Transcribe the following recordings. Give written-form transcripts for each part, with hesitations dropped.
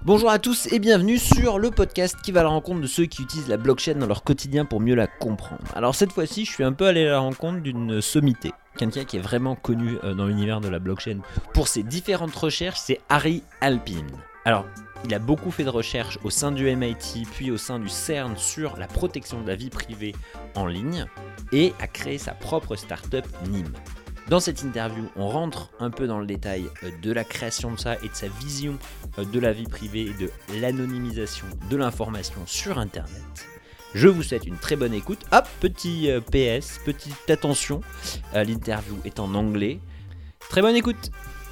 Bonjour à tous et bienvenue sur le podcast qui va à la rencontre de ceux qui utilisent la blockchain dans leur quotidien pour mieux la comprendre. Alors cette fois-ci, je suis un peu allé à la rencontre d'une sommité, quelqu'un qui est vraiment connu dans l'univers de la blockchain pour ses différentes recherches, c'est Ari Halpin. Alors, il a beaucoup fait de recherches au sein du MIT, puis au sein du CERN sur la protection de la vie privée en ligne et a créé sa propre startup NIM. Dans cette interview, on rentre un peu dans le détail de la création de ça et de sa vision de la vie privée et de l'anonymisation de l'information sur Internet. Je vous souhaite une très bonne écoute. Hop, petit PS, petite attention, l'interview est en anglais. Très bonne écoute.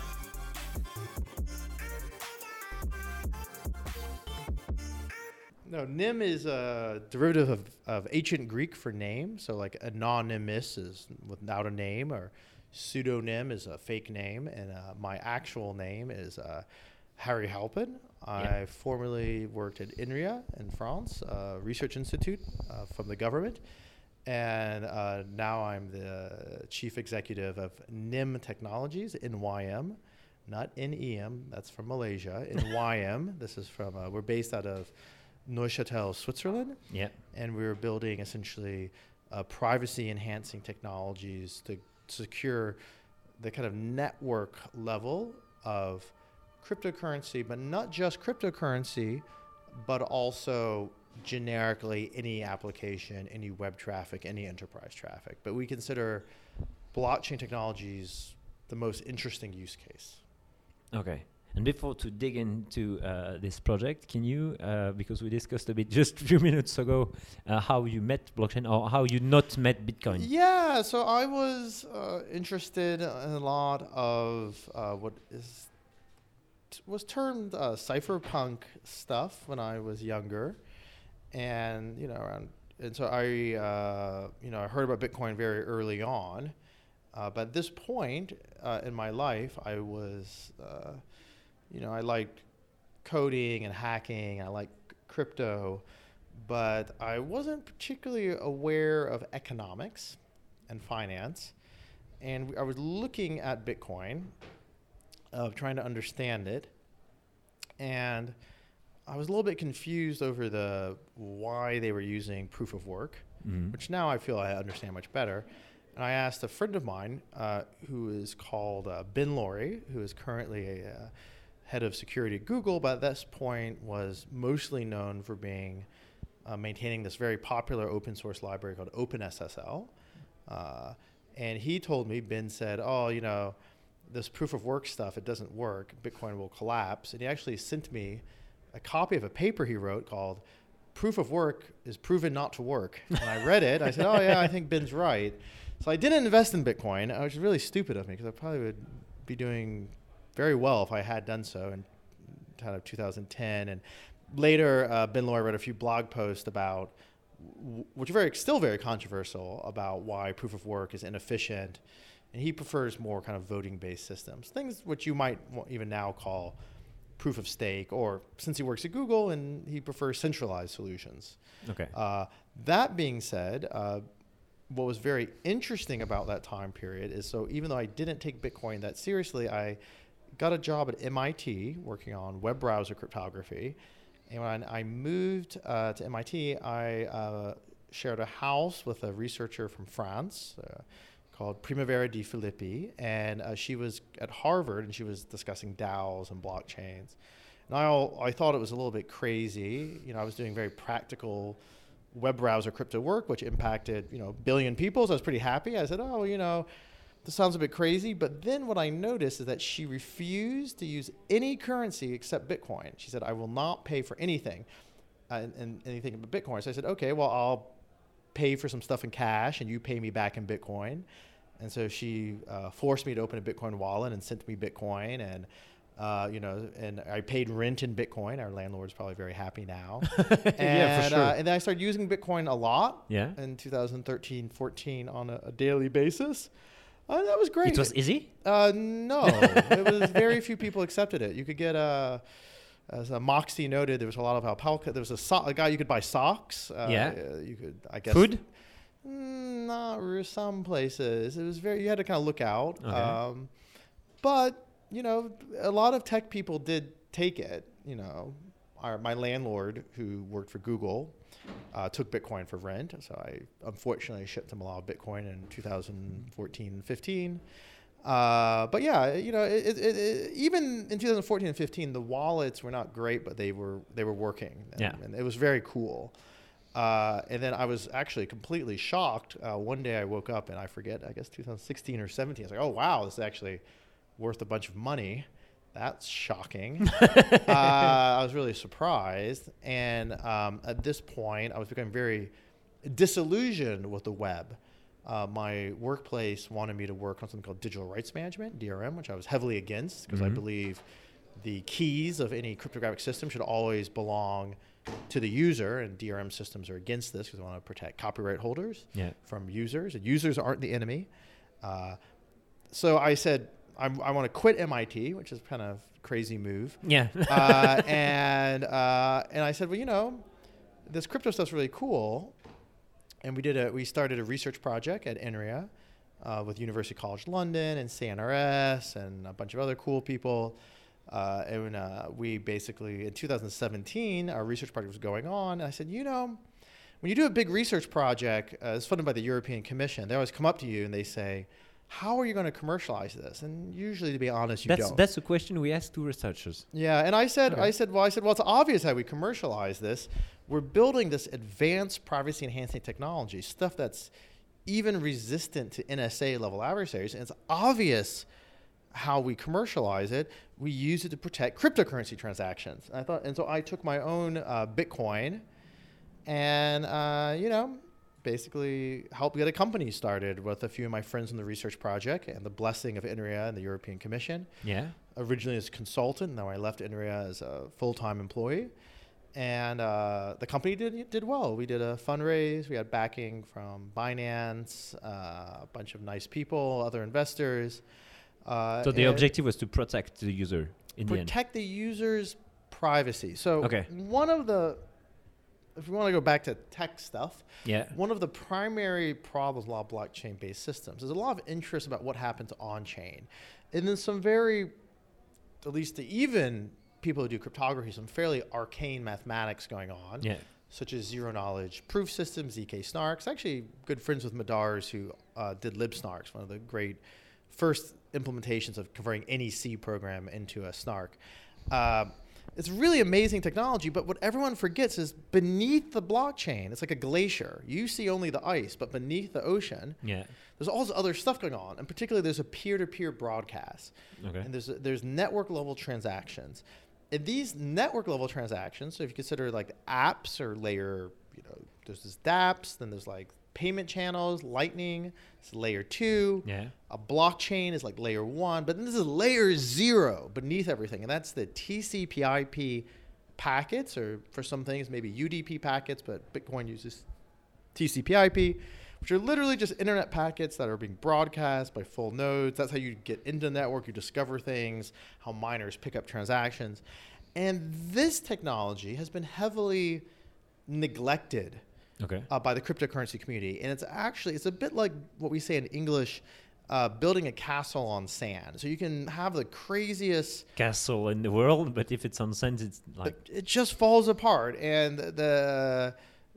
No, NIM is a derivative of ancient Greek for name. So like anonymous is without a name, or pseudonym is a fake name. And my actual name is Harry Halpin. I formerly worked at INRIA in France, a research institute from the government. And now I'm the chief executive of NIM Technologies, NYM, not NEM, that's from Malaysia. NYM, this is from, we're based out of Neuchâtel, Switzerland. Yeah. And we're building essentially privacy enhancing technologies to secure the kind of network level of cryptocurrency, but not just cryptocurrency, but also generically any application, any web traffic, any enterprise traffic. But we consider blockchain technologies the most interesting use case. Okay. And before to dig into this project, can you, because we discussed a bit just a few minutes ago, how you met blockchain or how you not met Bitcoin? Yeah, so I was interested in a lot of what was termed cypherpunk stuff when I was younger, and so I I heard about Bitcoin very early on, but at this point in my life, I was I liked coding and hacking. I liked crypto, but I wasn't particularly aware of economics and finance. And I was looking at Bitcoin, trying to understand it. And I was a little bit confused over why they were using proof of work, which now I feel I understand much better. And I asked a friend of mine who is called Ben Laurie, who is currently a head of security at Google, but at this point was mostly known for being maintaining this very popular open source library called OpenSSL. And he told me, Ben said, this proof of work stuff, it doesn't work. Bitcoin will collapse. And he actually sent me a copy of a paper he wrote called Proof of Work is Proven Not to Work. And I read it. I said, oh, yeah, I think Ben's right. So I didn't invest in Bitcoin, which is really stupid of me because I probably would be doing very well if I had done so in kind of 2010. And later, Ben Laurie wrote a few blog posts about, which are still very controversial, about why proof of work is inefficient. And he prefers more kind of voting-based systems, things which you might even now call proof of stake, or since he works at Google, and he prefers centralized solutions. Okay. That being said, what was very interesting about that time period is, so even though I didn't take Bitcoin that seriously, I got a job at MIT working on web browser cryptography. And when I moved to MIT, I shared a house with a researcher from France called Primavera Di Filippi. And she was at Harvard, and she was discussing DAOs and blockchains. And I thought it was a little bit crazy. I was doing very practical web browser crypto work, which impacted, a billion people. So I was pretty happy. I said, this sounds a bit crazy. But then what I noticed is that she refused to use any currency except Bitcoin. She said, I will not pay for anything and anything but Bitcoin. So I said, okay, well, I'll pay for some stuff in cash and you pay me back in Bitcoin. And so she forced me to open a Bitcoin wallet and sent me Bitcoin. And and I paid rent in Bitcoin. Our landlord's probably very happy now. Yeah, for sure. And then I started using Bitcoin a lot in 2013, 14 on a daily basis. That was great. It was easy? No. It was very few people accepted it. You could get, as Moxie noted, there was a lot of alpaca. There was a guy you could buy socks. You could, I guess. Food? Not some places. It was you had to kind of look out. Okay. But, a lot of tech people did take it. my landlord who worked for Google took Bitcoin for rent. So I unfortunately shipped him a lot of Bitcoin in 2014 and 15. But yeah, even in 2014 and 15, the wallets were not great, but they were working. And it was very cool. And then I was actually completely shocked. One day I woke up and I forget, I guess 2016 or 17. I was like, oh, wow, this is actually worth a bunch of money. That's shocking. I was really surprised. And at this point, I was becoming very disillusioned with the web. My workplace wanted me to work on something called digital rights management, DRM, which I was heavily against because I believe the keys of any cryptographic system should always belong to the user, and DRM systems are against this because they want to protect copyright holders from users, and users aren't the enemy. So I said, I want to quit MIT, which is kind of a crazy move. Yeah. And I said, well, this crypto stuff's really cool. And we started a research project at INRIA with University College London and CNRS and a bunch of other cool people. And we basically, in 2017, our research project was going on. And I said, when you do a big research project, it's funded by the European Commission, they always come up to you and they say, how are you going to commercialize this? And usually, to be honest, you don't. That's the question we ask to researchers. Yeah, and I said, well, it's obvious how we commercialize this. We're building this advanced privacy-enhancing technology, stuff that's even resistant to NSA level adversaries, and it's obvious how we commercialize it. We use it to protect cryptocurrency transactions. And so I took my own Bitcoin, and basically helped get a company started with a few of my friends in the research project and the blessing of INRIA and the European Commission. Yeah. Originally as a consultant, now I left INRIA as a full-time employee. And the company did well. We did a fundraise. We had backing from Binance, a bunch of nice people, other investors. So the objective was to protect the user in the end. Protect the user's privacy. So okay. If we want to go back to tech stuff, one of the primary problems with a lot of blockchain-based systems, there's a lot of interest about what happens on-chain. And then some at least even people who do cryptography, some fairly arcane mathematics going on, such as zero-knowledge proof systems, ZK snarks. Actually, good friends with Madars who did libsnarks, one of the great first implementations of converting any C program into a snark. It's really amazing technology, but what everyone forgets is beneath the blockchain, it's like a glacier. You see only the ice, but beneath the ocean, there's all this other stuff going on. And particularly, there's a peer-to-peer broadcast. Okay. And there's network-level transactions. And these network-level transactions, so if you consider like apps or layer, there's this dApps, then there's like payment channels, Lightning, it's layer 2. Yeah. A blockchain is like layer 1, but then this is layer 0 beneath everything, and that's the TCP/IP packets, or for some things maybe UDP packets, but Bitcoin uses TCP/IP, which are literally just internet packets that are being broadcast by full nodes. That's how you get into the network, you discover things, how miners pick up transactions. And this technology has been heavily neglected by the cryptocurrency community. And it's a bit like what we say in English, building a castle on sand. So you can have the craziest castle in the world, but if it's on sand, it's like it just falls apart. And the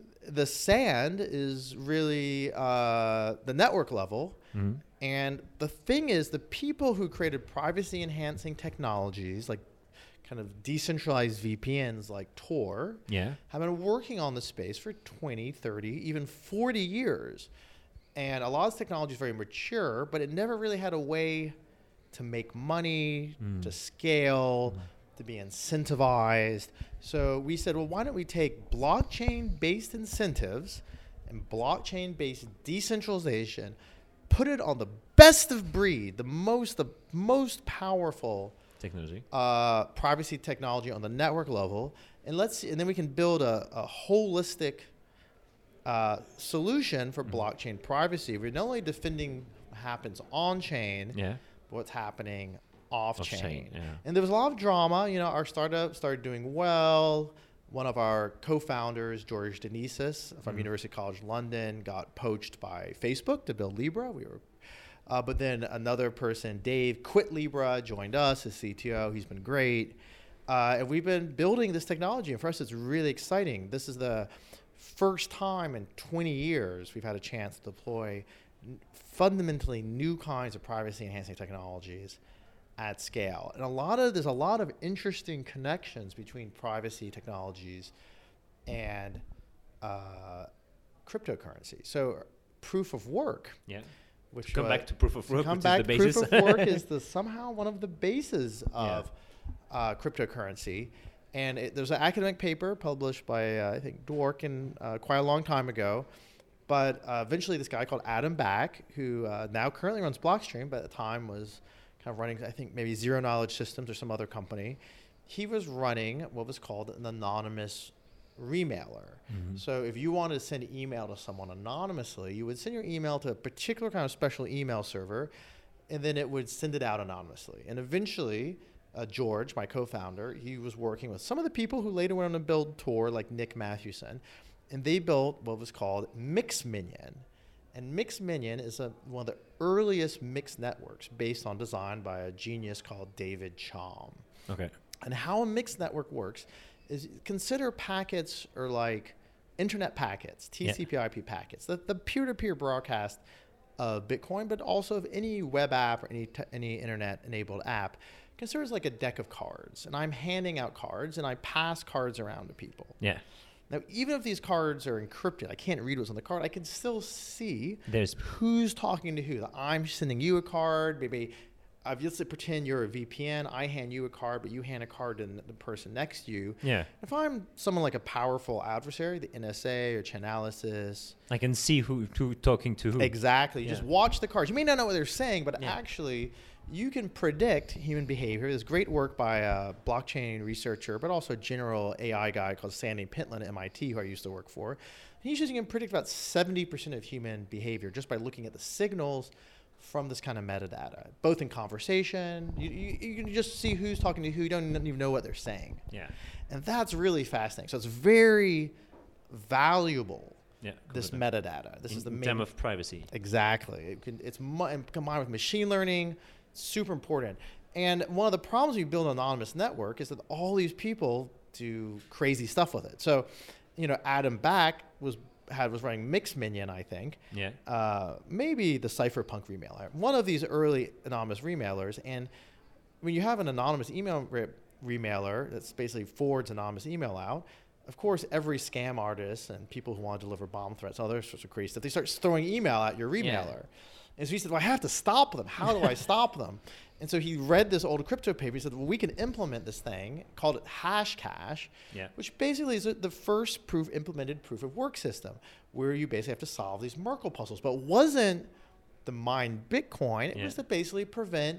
sand is really the network level. Mm-hmm. And the thing is, the people who created privacy enhancing technologies like kind of decentralized VPNs like Tor have been working on the space for 20, 30, even 40 years. And a lot of this technology is very mature, but it never really had a way to make money, to scale, to be incentivized. So we said, well, why don't we take blockchain-based incentives and blockchain-based decentralization, put it on the best of breed, the most powerful technology, privacy technology on the network level, and then we can build a holistic solution for blockchain privacy. We're not only defending what happens on chain, but what's happening off chain. And there was a lot of drama. Our startup started doing well. One of our co-founders, George Denisis from University College London, got poached by Facebook to build Libra. But then another person, Dave, quit Libra, joined us as CTO. He's been great. And we've been building this technology, and for us, it's really exciting. This is the first time in 20 years we've had a chance to deploy fundamentally new kinds of privacy-enhancing technologies at scale. And there's a lot of interesting connections between privacy technologies and cryptocurrency. So proof of work. Yeah. Which come back to proof of work, which is the basis. Proof of work is somehow one of the bases of cryptocurrency. And there's an academic paper published by, I think, Dworkin quite a long time ago. But eventually this guy called Adam Back, who now currently runs Blockstream, but at the time was kind of running, I think, maybe Zero Knowledge Systems or some other company. He was running what was called an anonymous remailer. Mm-hmm. So if you wanted to send email to someone anonymously, you would send your email to a particular kind of special email server, and then it would send it out anonymously. And eventually, George, my co-founder, he was working with some of the people who later went on to build Tor, like Nick Mathewson, and they built what was called MixMinion. And MixMinion is one of the earliest mixed networks based on design by a genius called David Chaum. Okay. And how a mixed network works is consider packets or like internet packets, TCP/IP packets, the peer-to-peer broadcast of Bitcoin, but also of any web app or any internet-enabled app. Consider it like a deck of cards, and I'm handing out cards, and I pass cards around to people. Yeah. Now, even if these cards are encrypted, I can't read what's on the card, I can still see There's who's talking to who. I'm sending you a card, maybe let's pretend you're a VPN. I hand you a card, but you hand a card to the person next to you. Yeah. If I'm someone like a powerful adversary, the NSA or Chainalysis, I can see who talking to who. Exactly. You Yeah. just watch the cards. You may not know what they're saying, but actually you can predict human behavior. There's great work by a blockchain researcher, but also a general AI guy called Sandy Pentland at MIT, who I used to work for. And he's using can predict about 70% of human behavior just by looking at the signals from this kind of metadata, both in conversation. You can just see who's talking to who. You don't even know what they're saying. Yeah. And that's really fascinating. So it's very valuable, Yeah. this metadata. This is the main... term of privacy. Exactly. It's combined with machine learning, super important. And one of the problems when you build an anonymous network is that all these people do crazy stuff with it. So, Adam Back was running MixMinion, I think. Yeah. Maybe the Cypherpunk remailer. One of these early anonymous remailers. And when you have an anonymous email remailer that's basically forwards anonymous email out, of course, every scam artist and people who want to deliver bomb threats, all those sorts of crazy stuff, they start throwing email at your remailer. Yeah. And so he said, well, I have to stop them. How do I stop them? And so he read this old crypto paper. He said, well, we can implement this thing, called it Hashcash, which basically is the first implemented proof of work system, where you basically have to solve these Merkle puzzles. But it wasn't to mine Bitcoin. It was to basically prevent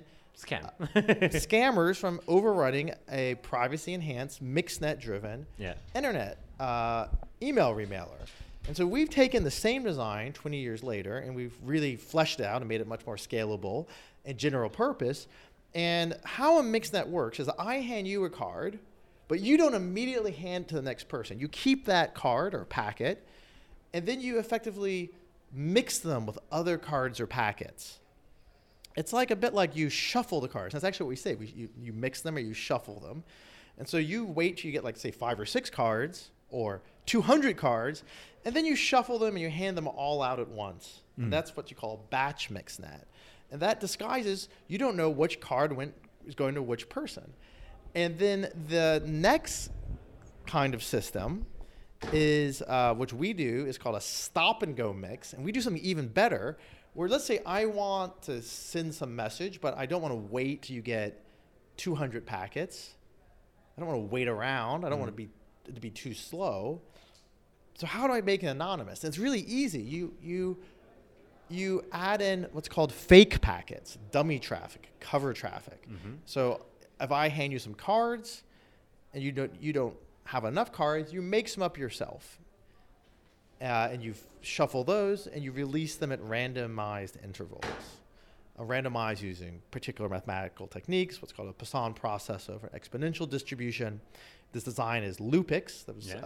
scammers from overrunning a privacy-enhanced, mixed-net-driven internet email remailer. And so we've taken the same design 20 years later, and we've really fleshed it out and made it much more scalable and general purpose. And how a mixed net works is I hand you a card, but you don't immediately hand it to the next person. You keep that card or packet, and then you effectively mix them with other cards or packets. It's like a bit like you shuffle the cards. That's actually what we say. You mix them or you shuffle them. And so you wait till you get, like, say, 5 or 6 cards or 200 cards, and then you shuffle them and you hand them all out at once. And that's what you call batch mixnet. And that disguises you don't know which card is going to which person. And then the next kind of system is, which we do, is called a stop and go mix. And we do something even better, where let's say I want to send some message, but I don't want to wait till you get 200 packets. I don't want to wait around. I don't want it to be too slow. So how do I make it anonymous? And it's really easy. You add in what's called fake packets, dummy traffic, cover traffic. So if I hand you some cards and you don't have enough cards, you make some up yourself. And you shuffle those and you release them at randomized intervals. Randomized using particular mathematical techniques, what's called a Poisson process over exponential distribution. This design is Lupix.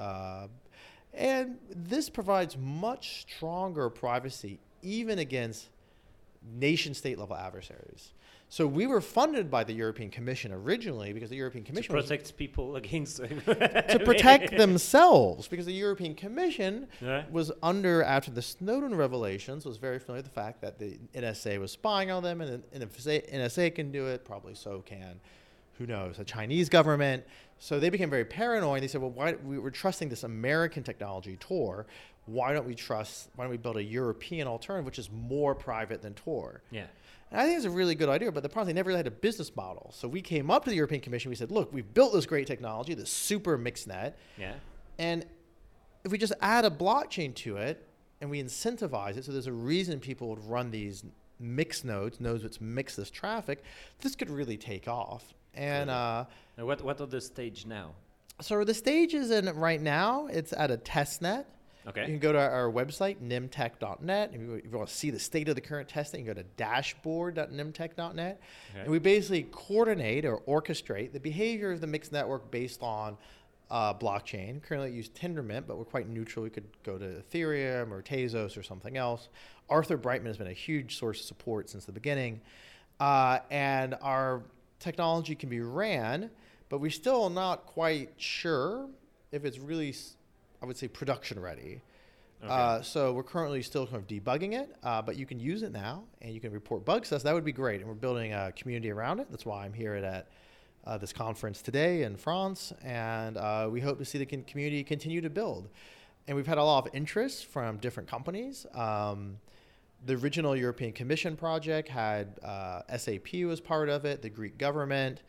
And this provides much stronger privacy even against nation-state level adversaries. So we were funded by the European Commission originally because the European Commission To protect people against to protect themselves, because the European Commission Yeah. was under, after the Snowden revelations, was very familiar with the fact that the NSA was spying on them, and if NSA can do it, probably so can, who knows, the Chinese government. So they became very paranoid. They said, well, why we were trusting this American technology, Tor. Why don't we build a European alternative, which is more private than Tor? Yeah. And I think it's a really good idea, but the problem is they never really had a business model. So we came up to the European Commission. We said, look, we've built this great technology, this super mixnet. Yeah. And if we just add a blockchain to it and we incentivize it, so there's a reason people would run these mixed nodes which mix this traffic, this could really take off. And Now what are the stage now? so the stage is in right now, it's at a test net. Okay. You can go to our website, nimtech.net. If you want to see the state of the current testing, you can go to dashboard.nimtech.net. Okay. And we basically coordinate or orchestrate the behavior of the mixed network based on blockchain. Currently, we use Tendermint, but we're quite neutral. We could go to Ethereum or Tezos or something else. Arthur Brightman has been a huge source of support since the beginning. And our technology can be ran, but we're still not quite sure if it's really, I would say, production ready. Okay. So we're currently still kind of debugging it, but you can use it now and you can report bugs to us. That would be great. And we're building a community around it. That's why I'm here at this conference today in France. And we hope to see the community continue to build. And we've had a lot of interest from different companies. The original European Commission project had SAP was part of it, the Greek government.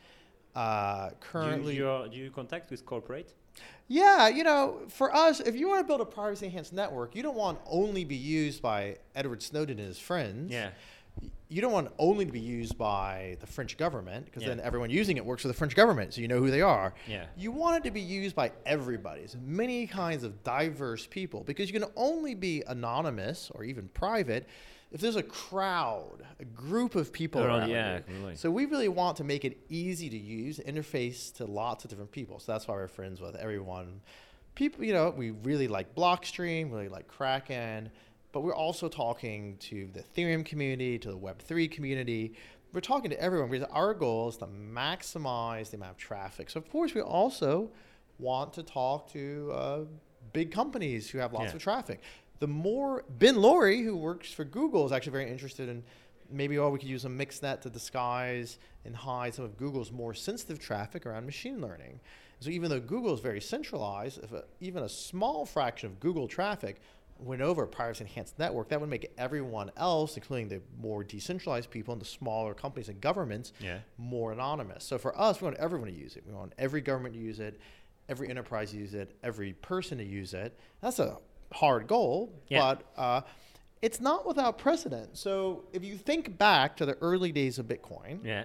Currently, do you contact with corporate? yeah, for us, if you want to build a privacy enhanced network, you don't want only be used by Edward Snowden and his friends. Yeah. You don't want only to be used by the French government, because Yeah. then everyone using it works for the French government, so you know who they are. Yeah. You want it to be used by everybody, so many kinds of diverse people, because you can only be anonymous or even private if there's a crowd, a group of people around Yeah. you. Really. So we really want to make it easy to use, interface to lots of different people. So that's why we're friends with everyone. People, we really like Blockstream, really like Kraken, but we're also talking to the Ethereum community, to the Web3 community. We're talking to everyone because our goal is to maximize the amount of traffic. So of course we also want to talk to big companies who have lots Yeah. of traffic. The more Ben Laurie, who works for Google, is actually very interested in maybe we could use a mixnet to disguise and hide some of Google's more sensitive traffic around machine learning. So even though Google is very centralized, if even a small fraction of Google traffic went over a privacy enhanced network, that would make everyone else, including the more decentralized people and the smaller companies and governments, Yeah. more anonymous. So for us, we want everyone to use it. We want every government to use it, every enterprise to use it, every person to use it. That's a hard goal, Yeah. but it's not without precedent. So if you think back to the early days of Bitcoin, Yeah.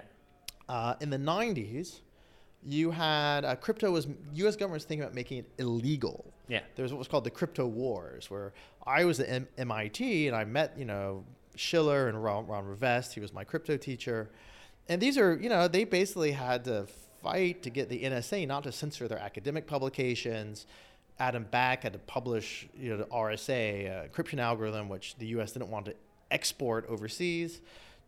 in the 90s, you had U.S. government was thinking about making it illegal. Yeah. There was what was called the crypto wars, where I was at MIT and I met, Schiller and Ron Rivest. He was my crypto teacher. And these are, they basically had to fight to get the NSA not to censor their academic publications. Adam Back had to publish, the RSA encryption algorithm, which the U.S. didn't want to export overseas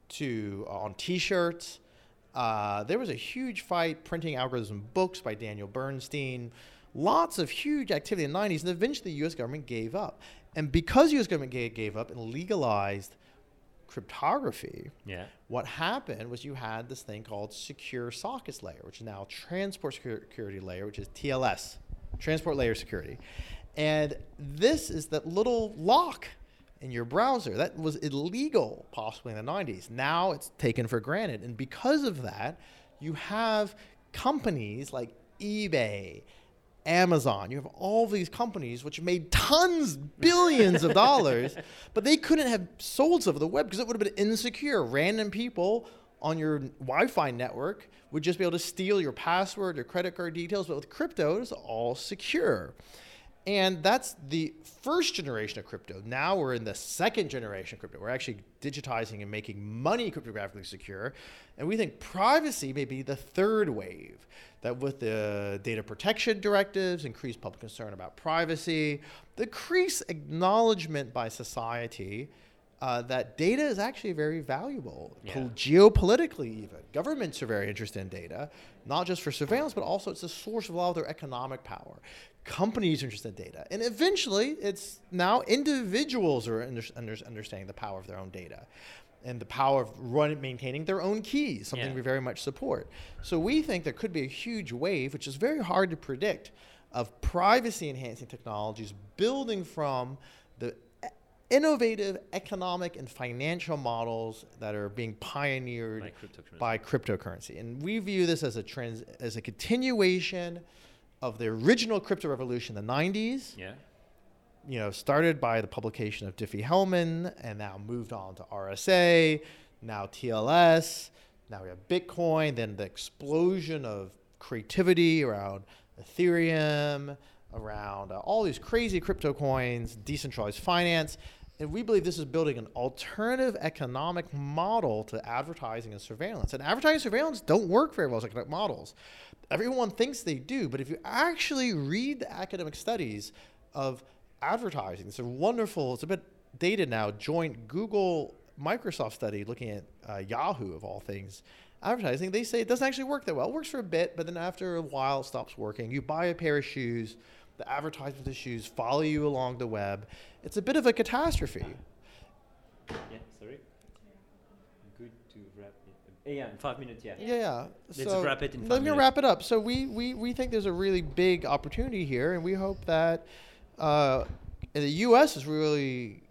on T-shirts. There was a huge fight printing algorithm books by Daniel Bernstein. Lots of huge activity in the 90s, and eventually the U.S. government gave up. And because the U.S. government gave up and legalized cryptography, Yeah. what happened was you had this thing called secure sockets layer, which is now transport security layer, which is TLS, transport layer security. And this is that little lock in your browser that was illegal possibly in the 90s. Now it's taken for granted. And because of that, you have companies like eBay, Amazon, you have all these companies which made tons, billions of dollars, but they couldn't have sold stuff over the web because it would have been insecure. Random people on your Wi-Fi network would just be able to steal your password, your credit card details, but with crypto, it's all secure. And that's the first generation of crypto. Now we're in the second generation of crypto. We're actually digitizing and making money cryptographically secure. And we think privacy may be the third wave, that with the data protection directives, increased public concern about privacy, the increased acknowledgement by society that data is actually very valuable, Yeah. geopolitically even. Governments are very interested in data, not just for surveillance, but also it's a source of a lot of their economic power. Companies are interested in data. And eventually, it's now individuals are understanding the power of their own data and the power of maintaining their own keys, something we very much support. So we think there could be a huge wave, which is very hard to predict, of privacy-enhancing technologies building from the innovative economic and financial models that are being pioneered by cryptocurrency. And we view this as a continuation of the original crypto revolution in the 90s. Yeah. Started by the publication of Diffie-Hellman and now moved on to RSA, now TLS, now we have Bitcoin, then the explosion of creativity around Ethereum, around all these crazy crypto coins, decentralized finance. And we believe this is building an alternative economic model to advertising and surveillance. And advertising and surveillance don't work very well as economic models. Everyone thinks they do, but if you actually read the academic studies of advertising, it's a wonderful, it's a bit dated now, joint Google-Microsoft study looking at Yahoo, of all things, advertising. They say it doesn't actually work that well. It works for a bit, but then after a while it stops working. You buy a pair of shoes, the advertisements of the shoes follow you along the web. It's a bit of a catastrophe. Yeah, sorry. Good to wrap it. Yeah, in 5 minutes, yeah. Yeah. Let's wrap it in 5 Let me minutes. wrap it up. So we think there's a really big opportunity here, and we hope that in the U.S. is really,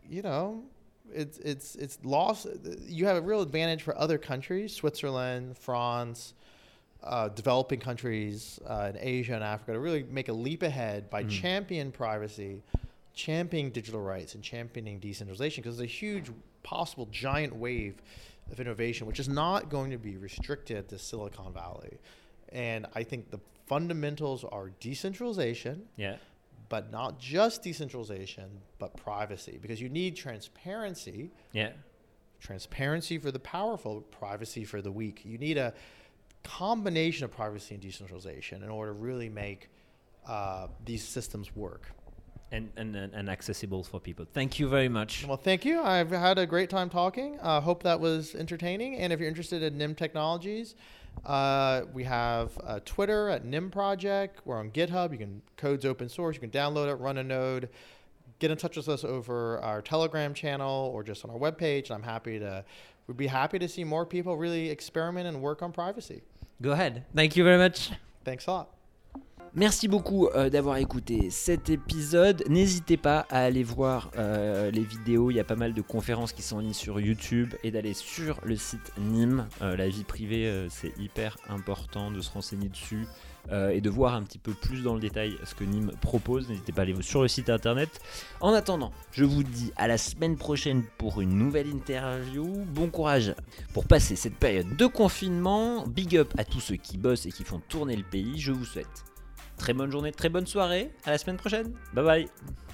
it's lost. You have a real advantage for other countries, Switzerland, France, developing countries in Asia and Africa, to really make a leap ahead by championing privacy, championing digital rights, and championing decentralization, because there's a huge possible giant wave of innovation, which is not going to be restricted to Silicon Valley. And I think the fundamentals are decentralization, but not just decentralization, but privacy, because you need transparency. Transparency for the powerful, privacy for the weak. You need a combination of privacy and decentralization in order to really make these systems work. And accessible for people. Thank you very much. Well, thank you. I've had a great time talking. Hope that was entertaining. And if you're interested in NIM Technologies, we have Twitter at NIM Project. We're on GitHub. Code's open source. You can download it, run a node, get in touch with us over our Telegram channel or just on our webpage. And we'd be happy to see more people really experiment and work on privacy. Go ahead. Thank you very much. Thanks a lot. Merci beaucoup d'avoir écouté cet épisode. N'hésitez pas à aller voir les vidéos. Il y a pas mal de conférences qui sont en ligne sur YouTube et d'aller sur le site NIM. La vie privée, c'est hyper important de se renseigner dessus et de voir un petit peu plus dans le détail ce que NIM propose. N'hésitez pas à aller sur le site internet. En attendant, je vous dis à la semaine prochaine pour une nouvelle interview. Bon courage pour passer cette période de confinement. Big up à tous ceux qui bossent et qui font tourner le pays. Je vous souhaite très bonne journée, très bonne soirée. À la semaine prochaine. Bye bye.